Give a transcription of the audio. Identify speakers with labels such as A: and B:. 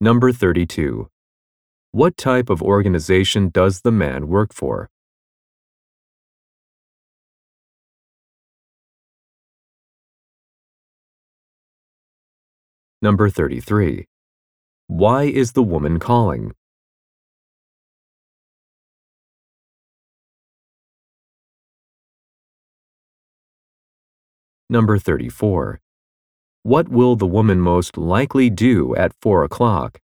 A: Number 32. What type of organization does the man work for? Number 33. Why is the woman calling? Number 34. What will the woman most likely do at 4 o'clock?